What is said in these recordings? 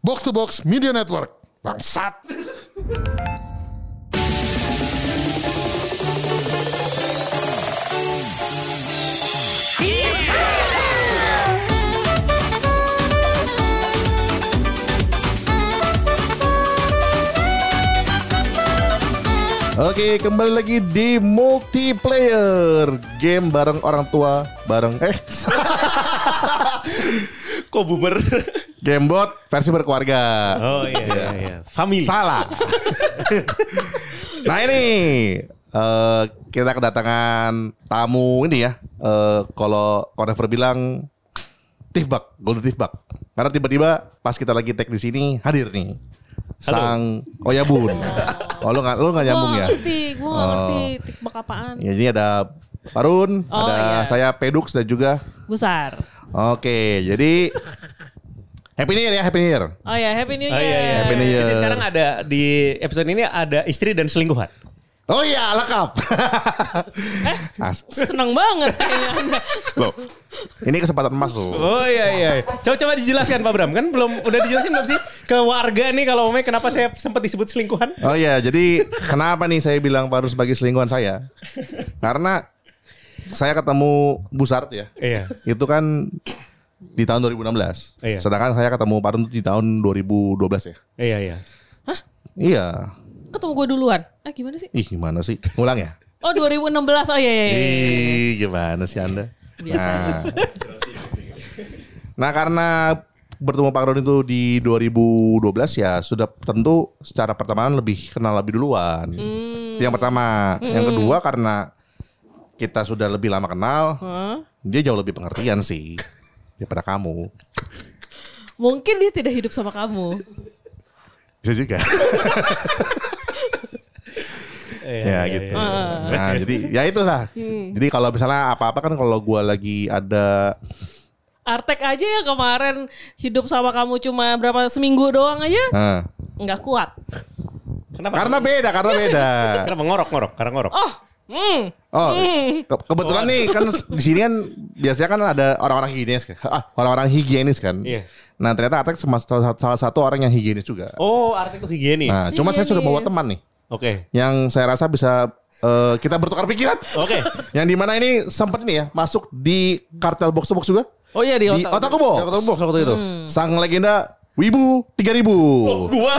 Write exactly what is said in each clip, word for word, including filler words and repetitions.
Box to Box Media Network. Bangsat. Oke, kembali lagi di multiplayer game bareng orang tua, bareng eh kok boomer? Gamebot versi berkeluarga. Oh iya iya iya. Family. Salah. Nah ini uh, kita kedatangan tamu ini ya. Uh, kalau Konever bilang Tifbak, Golden Tifbak. Karena tiba-tiba pas kita lagi tag di sini hadir nih. Sang Oyabun. Oh lu gak, lu gak nyambung ya? Gue ngerti, gue gak ngerti tikbak apaan. Ya ini ada Farun, Oh, ada iya. saya Pedux dan juga Besar. Oke, jadi Happy New Year ya, Happy New Year. Oh ya, Happy New Oh Year. iya iya. Happy New Year. Jadi sekarang ada di episode ini ada istri dan selingkuhan. Oh iya, lengkap. Eh, As- seneng banget kayaknya Anda. Loh, ini kesempatan emas loh. Oh iya iya. Coba-coba dijelaskan Pak Bram. Kan belum udah dijelasin belum sih ke warga nih kalau omongnya kenapa saya sempat disebut selingkuhan? Oh iya, jadi kenapa nih saya bilang Farun sebagai selingkuhan saya? Karena saya ketemu Busart ya. Iya. Itu kan di tahun dua ribu enam belas. Iya. Sedangkan saya ketemu Farun di tahun dua ribu dua belas ya. Iya iya. Iya. Ketemu gue duluan. Eh gimana sih? Ih, gimana sih? Ngulang ya? Oh dua ribu enam belas. Oh iya iya iya. Ih, gimana sih Anda? Biasa. Nah, nah karena bertemu Pak Ron itu di dua ribu dua belas ya sudah tentu secara pertemanan lebih kenal lebih duluan. Hmm. Itu yang pertama. Yang kedua karena kita sudah lebih lama kenal, Hah? dia jauh lebih pengertian sih daripada kamu. Mungkin dia tidak hidup sama kamu. Bisa juga. Iya, Ya iya, gitu. iya. Nah jadi ya itulah. Jadi kalau misalnya apa-apa kan kalau gua lagi ada Artek aja ya kemarin hidup sama kamu cuma berapa seminggu doang aja. nah, Nggak kuat. Kenapa? karena beda, karena beda. Kenapa ngorok-ngorok? Karena ngorok. Oh, hmm. Oh, ke- kebetulan nih kan di sini kan biasanya kan ada orang-orang higienis kan. Ah, orang-orang higienis kan. Iya. Nah, ternyata Artek sama- salah salah satu orang yang higienis juga. Oh, arti itu higienis. Nah, cuma saya sudah bawa teman nih Oke. yang saya rasa bisa eh, kita bertukar pikiran. Oke. Yang dimana ini sempat nih ya masuk di kartel box to box juga. Oh iya di Di otak. Otaku Box. Di Otaku Box waktu itu. Sang legenda Wibu tiga ribu. Gua.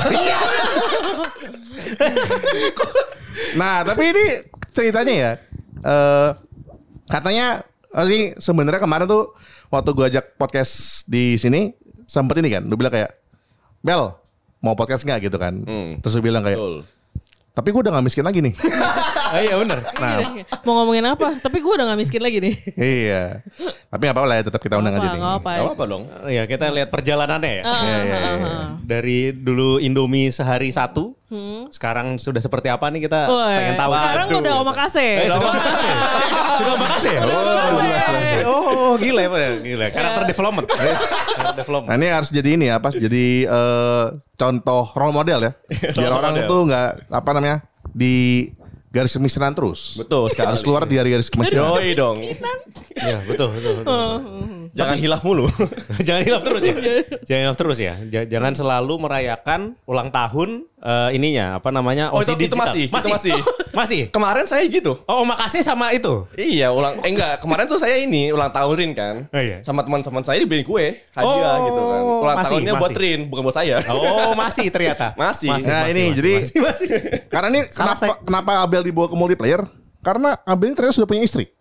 Nah, tapi ini ceritanya ya. eh katanya eh, ini sebenarnya kemarin tuh waktu gue ajak podcast di sini sempet ini kan, lu bilang kayak Bel mau podcast nggak gitu kan? Hmm. Terus lu bilang kayak, Betul. tapi gue udah nggak miskin lagi nih. Oh iya benar. Nah, Mau ngomongin apa? Tapi gue udah gak miskin lagi nih. iya. Tapi nggak apa-apa lah ya, tetap kita undang Nggak aja apa, nih. nggak apa. Gak apa dong. Iya kita lihat perjalanannya ya. Ah, Iya, iya, ah, iya. ah. Dari dulu Indomie sehari satu, sekarang sudah seperti apa nih kita Woi, pengen tahu. sekarang Aduh. udah omakase. Eh, sudah omakase. Sudah omakase ya? Oh, omakase. jelas, jelas. Oh, gila ya, Pak. Gila. Karakter development. Karakter development. Nah ini harus jadi ini ya, apa? Jadi eh, contoh role model ya, biar Role orang model. tuh nggak apa namanya di garis kemiskinan terus. Betul sekali. Harus keluar dari garis kemiskinan. Yoi dong. Iya betul betul. betul. Jangan hilaf mulu. Jangan hilaf terus ya. Jangan hilaf terus ya. J- Jangan selalu merayakan ulang tahun eh, ininya apa namanya? Oh, itu- O C itu digital. masih, itu masih. masih. Kemarin saya gitu. Oh, makasih sama itu. Iya, ulang eh enggak, kemarin tuh saya ini ulang tahunin kan. Oh, iya. Sama teman-teman saya dibeliin kue, hadiah Oh, gitu kan. Ulang masih, tahunnya buat masih. Rin, bukan buat saya. Oh, masih ternyata. Masih. Nah ini jadi masih, masih. karena ini Salah kenapa kenapa Abel dibawa ke multiplayer? Karena Abel ini ternyata sudah punya istri.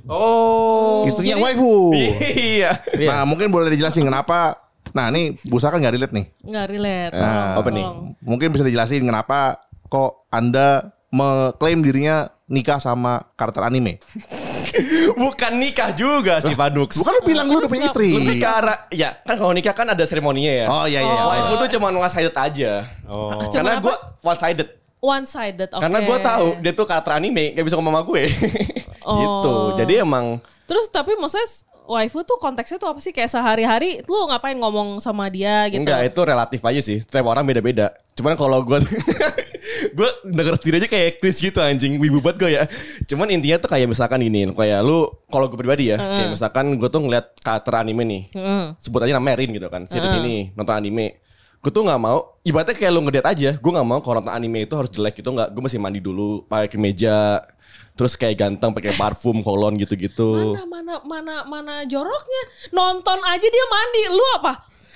Oh. Istrinya jadi- waifu. Iya. Nah mungkin boleh dijelasin kenapa. Nah ini Busa kan gak relate nih. Nggak relate. Nah, apa nih? Mungkin bisa dijelasin kenapa kok Anda mengklaim dirinya nikah sama karakter anime. Bukan nikah juga sih, Pak Dux. Bukan lu bilang lu udah punya istri. Lebih ke arah, ya kan kalau nikah kan ada seremoninya ya. Oh iya iya. iya. Waifu tuh cuma one sided aja. Oh. Karena Cuma gue one sided. One sided. Oke. Karena gue tahu dia tuh karakter anime, gak bisa ngomong sama gue. Gitu. Jadi emang Terus tapi maksudnya waifu tuh konteksnya tuh apa sih? Kayak sehari-hari lu ngapain ngomong sama dia gitu? enggak, itu relatif aja sih. Setiap orang beda-beda. Cuman kalau gue gue denger sendiri aja kayak Chris gitu anjing, wibu banget gue ya. Cuman intinya tuh kayak misalkan ini, kayak lu kalau gue pribadi ya, kayak misalkan gue tuh ngeliat karakter anime nih, Mm. sebut aja nama Rin gitu kan, si Rin ini nonton anime, gue tuh nggak mau. Ibaratnya kayak lu ngedate aja. Gue nggak mau kalau nonton anime itu harus jelek gitu. Nggak. Gue mesti mandi dulu, pakai kemeja, terus kayak ganteng, pakai parfum, kolon gitu-gitu. Mana mana mana mana joroknya. Nonton aja dia mandi. Lu apa?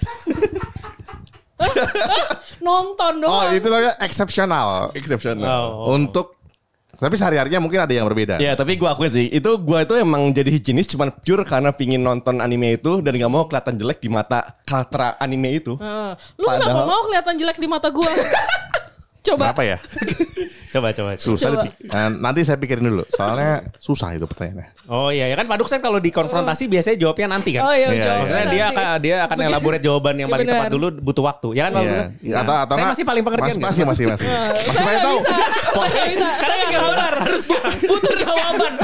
Hah? Hah? Nonton Oh doang. itu namanya eksepsional. Exceptional. Oh. Untuk tapi sehari-harinya mungkin ada yang berbeda. Ya tapi gue akui sih, itu gue itu emang jadi higienis cuman pure karena pingin nonton anime itu dan gak mau kelihatan jelek di mata karakter anime itu. Heeh. Lu kenapa Padahal- mau kelihatan jelek di mata gua? Coba. Kenapa ya? Coba coba. Susah Coba. dipik- Nah, nanti saya pikirin dulu. Soalnya susah itu pertanyaannya. Oh iya ya kan Pak Dux kan kalau dikonfrontasi biasanya jawabnya nanti kan. Oh iya, Iya, jawab Maksudnya nanti. dia akan dia akan elaborate jawaban yang Iya, paling tepat benar. dulu butuh waktu. Ya kan Pak Iya. Dux? Iya, atau atau saya nggak- masih paling pengertian Masih nggak? masih masih masih. Masih Saya banyak nggak tahu. bisa. Nggak bisa. Karena Saya nggak tinggal sabar. harus sekarang. Butuh jawaban.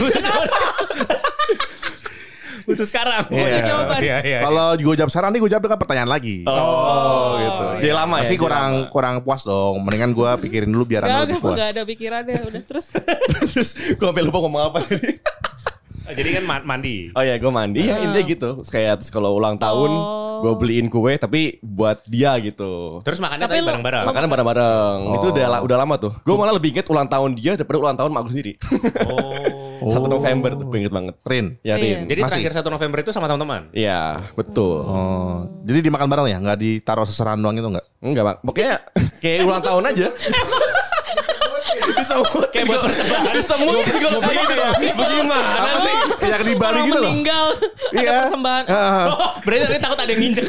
Butuh sekarang. Iya. jawaban. Iya, iya. Kalau gue jawab sekarang nih gue jawab dengan pertanyaan lagi. Oh, gitu. Jadi lama ya. Masih jadi kurang lama. kurang puas dong. Mendingan gue pikirin dulu biar Gak, anda lebih gak, puas. gak ada pikirannya. Udah terus. Terus gue sampai lupa ngomong apa tadi. Oh, jadi kan ma- mandi. Oh ya gue mandi ya intinya gitu. Kayak terus kalau ulang tahun Oh. gue beliin kue tapi buat dia gitu. Terus makannya Tapi tadi lu- bareng-bareng. Makanan bareng-bareng. Itu udah la- udah lama tuh. Gue malah lebih inget ulang tahun dia daripada ulang tahun mak gue sendiri. Oh. satu November tuh gue inget banget. Rin. Ya Iya. Rin. Jadi Masih. terakhir satu November itu sama teman-teman. Iya betul. Oh, jadi dimakan bareng ya? Nggak ditaruh seserahan doang itu nggak? Enggak mak. Pokoknya kayak ulang tahun aja. Disemut kayak buat persembahan. Disemut gue kayak gitu ya. Bagaimana sih? Yang di Bali Orang gitu loh. meninggal. Ada Iya. persembahan. Oh, berarti tadi takut ada yang nginjek.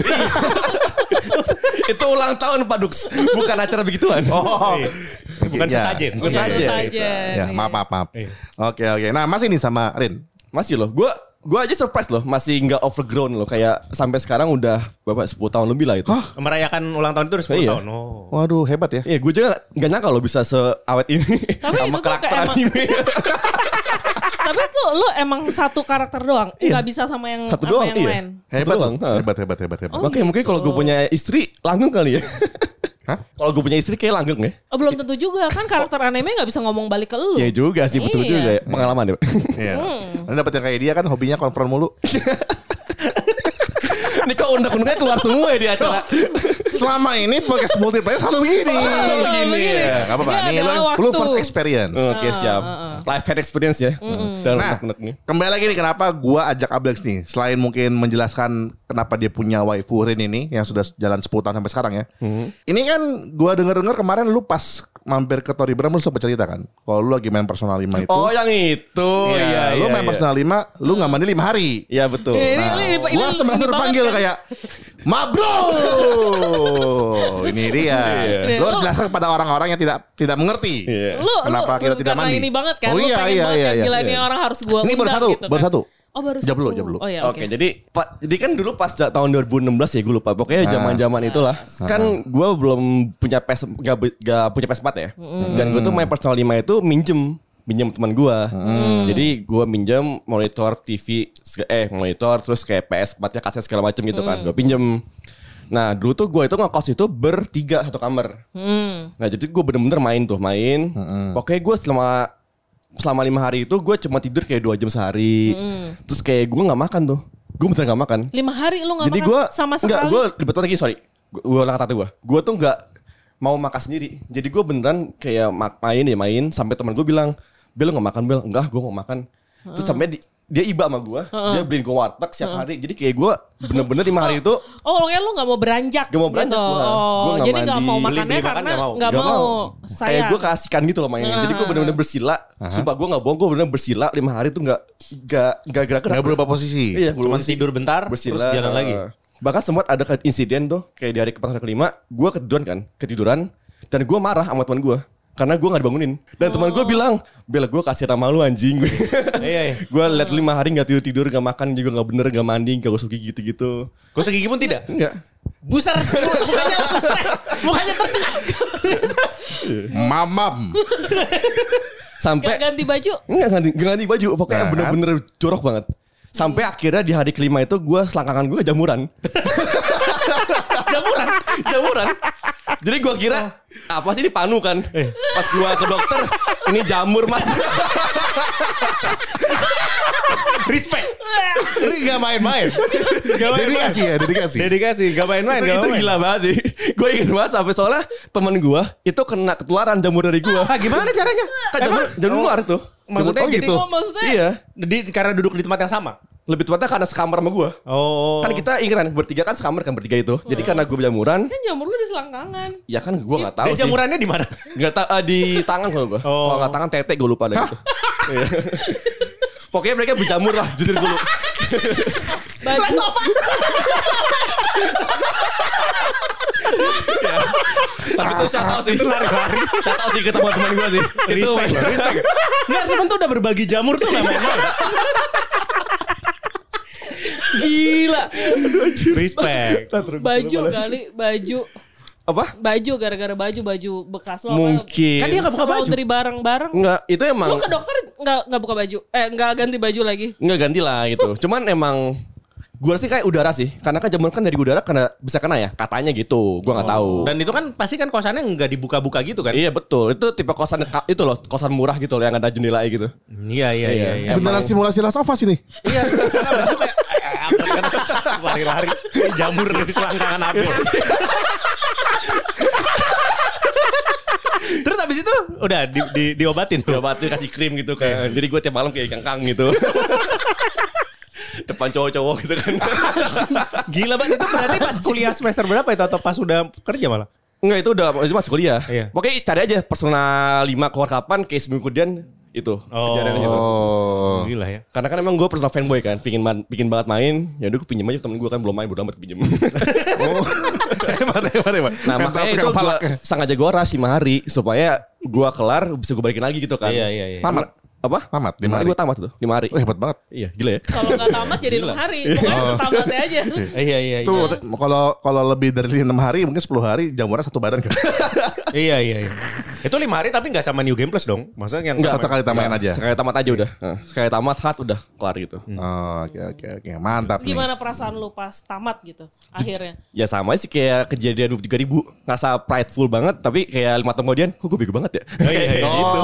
Itu ulang tahun Pak Dux. Bukan acara begituan. Oh, Bukan Iya. sesajen. Bukan sesajen. Sajen. Ya, maaf maaf maaf. Oke oke. Nah, masih nih sama Rin. Masih loh. Gue gue aja surprise loh. Masih nggak overgrown loh. Kayak sampai sekarang udah berapa sepuluh tahun lebih lah itu. Merayakan ulang tahun itu udah sepuluh Iya. tahun. Oh. Waduh, hebat ya. Iya, gue juga nggak nyangka loh bisa seawet ini Tapi itu sama tuh karakter kayak emang- anime. Tapi tuh lu emang satu karakter doang. Nggak bisa sama yang Satu sama doang, yang iya. lain. Hebat, doang, loh. ha. hebat, hebat, hebat, hebat. Oh, Makanya mungkin kalau gue punya istri langgeng kali ya. Hah? Kalau gue punya istri kayak langgeng ya. Oh, belum tentu juga kan karakter anime nggak bisa ngomong balik ke lu. Iya juga sih betul Iya. juga ya. Pengalaman ya. Iya. Anda dapat yang kayak dia kan hobinya konfront mulu. Ini kok undang-undangnya keluar semua ya di acara. Selama ini podcast multiplayer selalu begini. Oh, begini ya. Gak apa-apa. Ini Nih adalah lu, waktu. lu first experience. Oke siap. Life hack experience ya. Dan Nah, unek-unek nih. kembali lagi nih kenapa gua ajak Ablex nih. Selain mungkin menjelaskan kenapa dia punya waifu Rin ini yang sudah jalan sepuluh tahun sampai sekarang ya. Ini kan gua denger-dengar kemarin lu pas mampir ke Tori Bram lu sempat cerita kan. Kalau lu lagi main Personal lima itu. Oh yang itu. Iya, Iya, lu iya, main iya. Personal lima, lu nggak mandi lima hari. Iya betul. Ini- Nah, ini- ini- gua ini- semester ini panggil banget kan? kayak Ma bro, ini dia. Iya. Lu harus jelaskan kepada orang-orang yang tidak tidak mengerti. Iya. Lu, Kenapa lu, kita tidak karena mandi? ini banget kan. Oh Lu iya, pengen iya, banget iya, kan, iya. gila ini Iya. orang harus gua Ini baru undang satu, gitu baru kan. satu. Oh baru Jawab satu. dulu, jawab dulu. Oh iya Oke, oke. jadi Pak, jadi kan dulu pas ja- tahun dua ribu enam belas ya gue lupa. Pokoknya zaman-zaman itulah. Kan gue belum punya P S gak, gak punya P S empat ya. Dan gue tuh main Personal lima itu minjem minjem teman gue. Jadi gue minjem monitor T V seg- eh monitor terus kayak P S empat-nya kaset segala macam gitu kan. Gue pinjem. Nah dulu tuh gue itu ngekos itu bertiga satu kamar. Nah jadi gue bener-bener main tuh main. Pokoknya gue selama selama lima hari itu gue cuma tidur kayak dua jam sehari. Terus kayak gue nggak makan tuh. Gue bener nggak makan. Lima hari lu nggak Jadi makan gue sama enggak, sekali. gue betul lagi sorry. Gue ulang kata gue. Gue tuh nggak mau makan sendiri. Jadi gue beneran kayak mak- main ya main sampai teman gue bilang, Bel nggak makan Bel, enggak gue mau makan. Terus sampai di- dia iba sama gue, dia beliin gue warteg setiap hari. Jadi kayak gue bener-bener lima hari itu Oh, pokoknya lu gak mau beranjak Gak mau beranjak gitu. gua. Gua Oh, gak jadi gak mandi. mau Beli- makannya beli makan karena gak mau. gak Gak mau. Kayak Sayang. gue kasihkan gitu loh mainnya. Jadi gue bener-bener bersila. Sumpah gue gak bohong, gue bener-bener bersila lima hari tuh gak gak gak gerak-gerak. Nggak berubah posisi. Iya, Cuma belum tidur bentar, bersila. terus jalan lagi. Bahkan sempat ada ke- insiden tuh kayak di hari ke kelima, gue ketiduran kan, ketiduran dan gue marah sama teman gue. Karena gue gak dibangunin. Dan teman gue bilang, Bel gue kasih nama lu anjing. Iya, iya. Gue liat lu lima hari gak tidur-tidur, gak makan juga gak bener, gak mandi, gak gosok gigi gitu-gitu. Gosok gigi pun tidak. Enggak. Busar, mukanya langsung stres, mukanya tercekat. Mamam. Sampai Gak ganti baju. Enggak ganti, gak ganti baju. Pokoknya Nah, bener-bener jorok banget. Sampai akhirnya di hari kelima itu gue selangkangan gue jamuran. jamuran, jamuran. Jadi gue kira apa sih ini panu kan? Pas gue ke dokter, ini jamur mas. Respect. Ini gak main-main. Gak main-main. Dedikasi ya, dedikasi. Dedikasi, gak main-main. itu gak itu main-main. gila banget sih. Gue inget banget sampai soalnya temen gue itu kena ketularan jamur dari gue. Ah, gimana caranya? Kan jamur, jamur luar tuh. Maksudnya Oh, jadi gitu. Oh, maksudnya Iya. di, karena duduk di tempat yang sama. Lebih tepatnya karena sekamar sama gue. Oh. Kan kita ingat kan bertiga kan sekamar kan bertiga itu. Jadi karena gue berjamuran, kan jamur lu di selangkangan. ya kan gue nggak tahu Dan sih. jamurannya di mana? Nggak tahu uh, di tangan kalau gue. Oh. Kalau nggak tangan tete gue lupa deh gitu. Iya. Pokoknya mereka berjamur lah jujur gue lupa. Baju. Tapi itu shout out sih. Itu lari-lari. Shout out sih ke teman-teman gue sih. Itu Respect, respect. Nggak, temen tuh udah berbagi jamur tuh gak main-main. Gila. Respect. Baju kali, baju. Apa? Baju gara-gara baju baju bekas lo. Mungkin. Kan dia nggak buka baju. Laundry bareng-bareng. Enggak, itu Lu emang ke dokter nggak nggak buka baju? Eh nggak ganti baju lagi? nggak ganti lah gitu. Cuman emang gue sih kayak udara sih. Karena kan jamur kan dari udara karena bisa kena ya. Katanya gitu. Gue nggak tahu. Dan itu kan pasti kan kosannya nggak dibuka-buka gitu kan? Iya betul. Itu tipe kosan itu loh, kosan murah gitu loh yang ada jendela gitu. Iya, iya, iya. iya. Beneran simulasi Last of Us ini. Iya. Lari-lari jamur dari selangkangan aku. Terus abis itu udah di, di, diobatin tuh. Diobatin kasih krim gitu kan. Jadi gue tiap malam kayak kangkang gitu. Depan cowok-cowok gitu kan. Gila banget, itu berarti pas kuliah semester berapa itu atau pas udah kerja malah? Enggak, itu udah itu masuk kuliah. Iya. Pokoknya cari aja personal lima keluar kapan, kayak seminggu kemudian itu kejadiannya gitu. Oh. Gila ya. Karena kan emang gue personal fanboy kan, pingin man, pingin banget main. Ya udah gue pinjem aja temen gue kan belum main, bodo amat pinjem. Oh. Hebat, hebat, hebat. Nah makanya itu gue sengaja gue ras lima hari supaya gue kelar bisa gue balikin lagi gitu kan. Iya, iya, iya. Tamat. Apa? Tamat, lima lima hari hari. gue tamat tuh, lima hari. Oh, hebat banget. Iya gila ya. Kalau nggak tamat jadi enam hari. Pokoknya setamatnya aja. Iya, iya, iya. Tuh kalau kalau lebih dari enam hari mungkin sepuluh hari jamurnya satu badan kan. Iya, iya, iya. Itu lima hari tapi nggak sama New Game Plus dong? Maksudnya yang Enggak, sama- satu kali tambahin Nggak, aja. Sekali tamat aja udah. Nah, sekali tamat hat udah kelar gitu. Oh, oke oke oke. Mantap nih. Gimana perasaan lu pas tamat gitu akhirnya? Ya sama sih kayak kejadian dua puluh tiga ribu. Ngerasa prideful banget. Tapi kayak lima tahun kemudian, kok gue bego banget ya? Oh, iya, iya. gitu.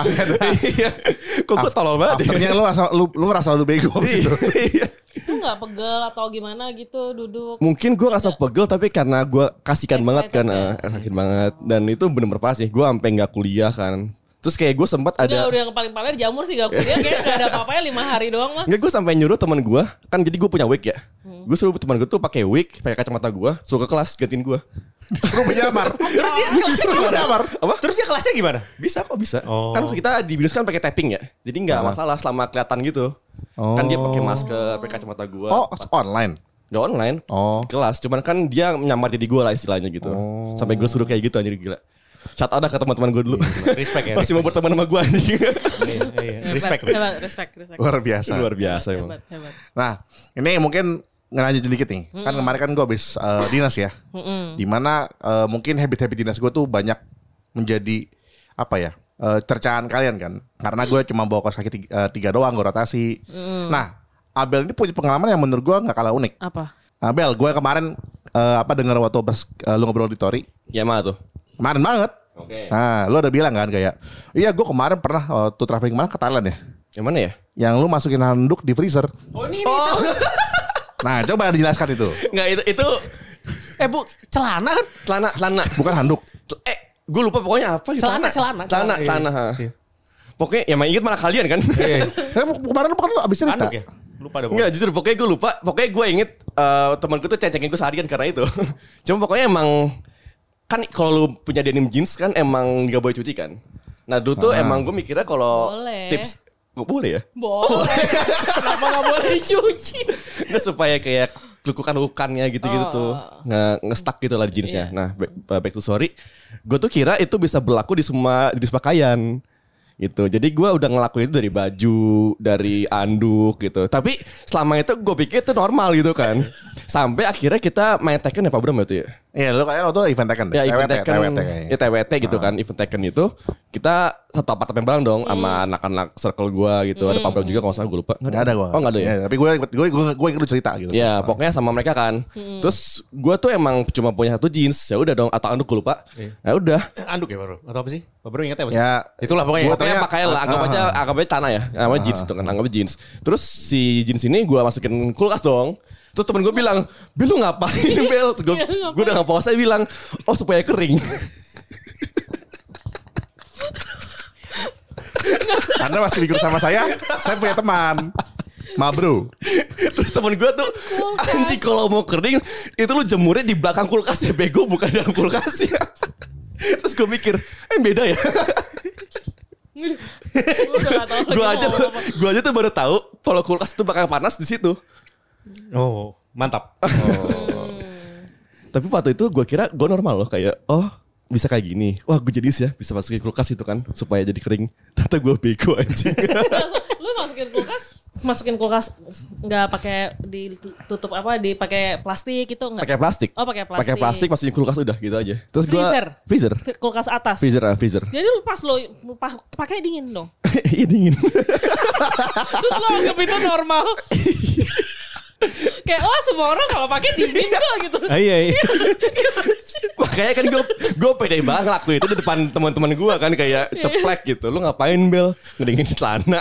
Iya. Kok gue tolol banget ya? Afternya lu asal lu lu ngerasa lu bego gitu. Iya. Lu nggak pegel atau gimana gitu duduk? Mungkin gue rasa pegel tapi karena gue kasihkan Excited banget kan. ya. eh, Excited banget. Dan itu bener-bener parah sih. Gue sampai gak kuliah kan. Terus kayak gue sempat Enggak, ada. udah yang paling paling jamur sih gak kuliah. Kayaknya gak ada apa-apanya lima hari doang mah. Nggak, gue sampai nyuruh teman gue. Kan jadi gue punya wig ya. Hmm. Gue suruh teman gue tuh pakai wig, pakai kacamata gue, suruh ke kelas gantiin gue. Suruh menyamar. Terus dia kelasnya gimana? Apa? Terus dia kelasnya gimana? Bisa kok bisa. Oh. Kan kita di binus kan pakai tapping ya. Jadi nggak masalah selama kelihatan gitu. Kan dia pakai masker, pakai kacamata gue. Oh, online. Gak online. Oh. Kelas. Cuman kan dia menyamar jadi gue lah istilahnya gitu. Sampai gue suruh kayak gitu anjir gila. Shout out dah ke teman-teman gue dulu. Respect ya. Masih mau berteman sama gue anjing. Iya, iya. Respect. Hebat, respect, respect. Luar biasa. Luar biasa emang. Hebat, hebat. Nah, ini mungkin ngelanjut dikit nih. Kan kemarin kan gue habis eh, dinas ya. Dimana eh, mungkin habit-habit dinas gue tuh banyak menjadi apa ya? eh, cercaan kalian kan. Karena gue cuma bawa kaos kaki tiga, eh, tiga doang, gue rotasi. Nah, Abel ini punya pengalaman yang menurut gue nggak kalah unik. Apa? Abel, gue kemarin eh, apa dengar waktu pas eh, lu ngobrol di Tori. Ya mana tuh? Kemarin banget. Oke. Nah, lu udah bilang kan kayak, iya gue kemarin pernah waktu traveling kemana ke Thailand ya. Yang mana ya? Yang lu masukin handuk di freezer. Oh ini, Oh. Nah, coba dijelaskan itu. Nggak itu itu eh bu, celana kan? celana celana. Bukan handuk. Eh, gue lupa pokoknya apa gitu. Celana, celana, celana, celana, iya. celana. ha. Pokoknya yang main inget malah kalian kan. Iya. Eh, kemarin bukan lu abis cerita. Handuk ya? Lupa dong. Enggak, jujur pokoknya gue lupa. Pokoknya gue inget eh, temanku tuh ceng-cengin gue seharian karena itu. Cuma pokoknya emang kan kalau lu punya denim jeans kan emang gak boleh cuci kan. Nah dulu tuh emang gue mikirnya kalau Boleh. tips gak boleh ya. Boleh. Kenapa gak boleh dicuci? Nggak supaya kayak lukukan-lukukannya gitu-gitu Oh. tuh nge ngestak gitu lah di jeansnya. Nah back, back to sorry, gue tuh kira itu bisa berlaku di semua jenis pakaian gitu. Jadi gue udah ngelakuin itu dari baju, dari anduk gitu. Tapi selama itu gue pikir itu normal gitu kan. Sampai akhirnya kita main Tekken ya Pak Bram itu ya. Iya, lu kayak waktu event Tekken deh. Ya event T W T, Tekken, T W T kayaknya. ya T W T gitu kan, event Tekken itu kita satu apartemen bareng dong sama Hmm. anak-anak circle gue gitu. Ada Pak Bram juga kalau nggak salah gue lupa. Nggak ada gue. Oh nggak ada ya? Tapi gue gue gue gue ikut cerita gitu. Ya pokoknya sama mereka kan. Hmm. Terus gue tuh emang cuma punya satu jeans. Ya udah dong atau anduk gue lupa. Ya udah. Anduk ya baru atau apa sih? Pak Bro ingat ya? Mas? Ya Itulah pokoknya. Gua Pokoknya tanya- pakaian lah, anggap aja anggap aja tanah ya. Namanya jeans itu kan, anggap aja jeans. Terus si jeans ini gue masukin kulkas dong. Terus temen gue bilang, Bel lu ngapain Bel? Gue gue udah nggak saya bilang, oh supaya kering. Anda masih ikut sama saya. Saya punya teman. Ma bro. Terus temen gue tuh, anjing kalau mau kering itu lu jemurnya di belakang kulkas ya bego, bukan dalam kulkas ya. Terus gue mikir, eh beda ya. Gue aja, gue aja tuh baru tahu kalau kulkas itu bakal panas di situ. Oh, mantap. Tapi waktu itu gue kira gue normal loh kayak oh bisa kayak gini. Wah gue jadi ya bisa masukin kulkas itu kan supaya jadi kering. Ternyata gue bego anjing. Lu masukin kulkas, masukin kulkas nggak pakai ditutup apa, dipakai plastik itu nggak? Pakai plastik. Oh pakai plastik. Pakai plastik masukin kulkas udah gitu aja. Terus gue Freezer. freezer. Kulkas atas. Freezer ah freezer. Jadi lu pas lo pa- pakai dingin dong. Iya dingin. Terus lo anggap itu normal. Kayak oh semua orang kalau pakai dingin kok gitu. Ah, iya, iya. Makanya kan gue gue pede banget ngelakuin itu di depan teman-teman gue kan kayak ceplek gitu. Lu ngapain Bel? Ngedingin celana.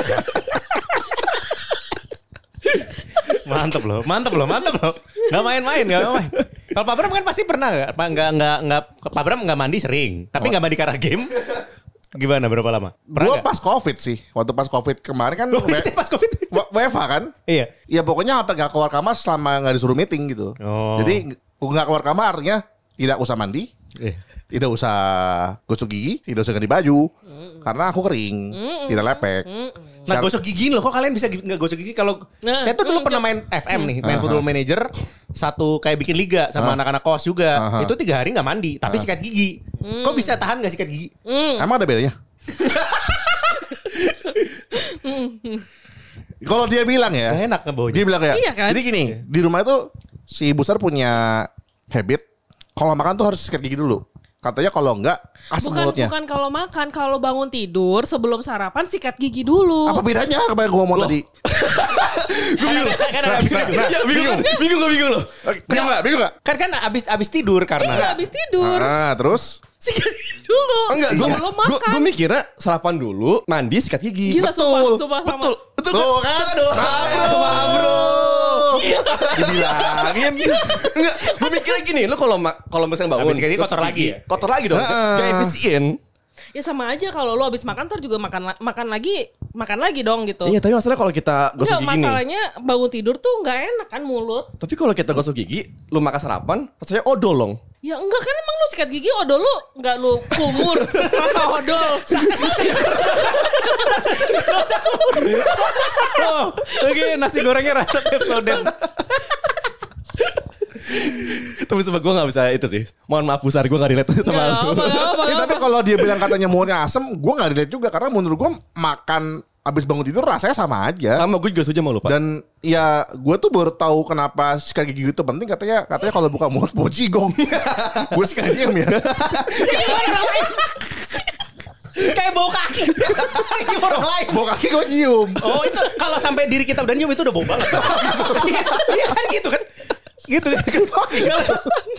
Mantap loh, mantap loh, mantap loh. Gak main-main, gak main. Kalau Pak Bram kan pasti pernah gak? Pak nggak nggak nggak Pak Bram nggak mandi sering, tapi nggak mandi karena game. Gimana berapa lama? Pernah Gue nggak? pas covid sih. Waktu pas covid kemarin kan Loh, we- itu pas covid. W- W F H kan. Iya. Ya pokoknya sampai gak keluar kamar selama gak disuruh meeting gitu. Oh. Jadi gak keluar kamar artinya tidak usah mandi. Iya. Tidak usah gosok gigi, tidak usah ganti baju, karena aku kering, tidak lepek. Nah gosok gigi loh, kok kalian bisa gi- nggak gosok gigi kalau Nah, saya tuh dulu hmm, pernah main F M nih, main Football Manager, satu kayak bikin liga sama anak-anak kos juga, Aha. itu tiga hari nggak mandi, tapi sikat gigi. Kok bisa tahan nggak sikat gigi? Emang ada bedanya? Kalau dia bilang ya, Gak enak ngebaunya. dia bilang kayak, Iya kan? jadi gini, di rumah itu si Busar punya habit, kalau makan tuh harus sikat gigi dulu. Katanya kalau enggak asam Bukan mulutnya. bukan kalau makan, kalau bangun tidur sebelum sarapan sikat gigi dulu. Apa bedanya apa yang gue ngomong tadi? Kan ada, kan ada abis tidur. Ya bingung, bingung gue bingung loh. Bingung gak? Bingung gak? Kan kan abis abis tidur karena. Iya habis tidur. Ah, terus? Sikat gigi dulu. Enggak, gue sebelum makan. gue mikirnya sarapan dulu, mandi sikat gigi. Gila Betul. sumpah, sumpah sama. Betul, betul Tuh kan? kan? Aduh, Ah, bro. Dibilangin. Enggak, gue mikirnya gini, lu kalau ma- kalau misalnya bangun Habis sikat gigi terus kotor lagi ya? Kotor lagi dong. Heeh. Gak efisien. Ya sama aja kalau lu habis makan ntar juga makan la- makan lagi, makan lagi dong gitu. Iya, tapi masalahnya kalau kita gosok Enggak, gigi nih. masalahnya bangun tidur tuh nggak enak kan mulut. Tapi kalau kita gosok gigi, lu makan sarapan, rasanya odol. Ya enggak kan emang lu sikat gigi odol lu enggak lu kumur rasa odol. Oh, oke nasi gorengnya rasa Pepsodent. Tapi sebab gue gak bisa itu sih. Mohon maaf Busar, gue gak relate sama Enggak lu. apa apa Ya, tapi kalau dia bilang katanya mulutnya asem, gue nggak relate juga karena menurut gue makan abis bangun tidur rasanya sama aja. Sama gue juga setuju sama lu Pak. Dan ya gue tuh baru tahu kenapa sikat gigi itu penting, katanya katanya kalau buka mulut mau cigong. Gue sih kayak diam ya. Kayak bau kaki. Kaki orang lain. Bawa kaki gue nyium. Oh itu kalau sampai diri kita udah nyium itu udah bau banget. Iya iya kan gitu kan. Gitu kan.